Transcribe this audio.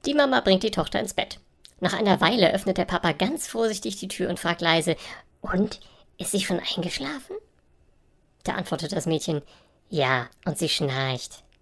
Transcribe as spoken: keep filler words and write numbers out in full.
Die Mama bringt die Tochter ins Bett. Nach einer Weile öffnet der Papa ganz vorsichtig die Tür und fragt leise: Und, ist sie schon eingeschlafen? Da antwortet das Mädchen: Ja, und sie schnarcht.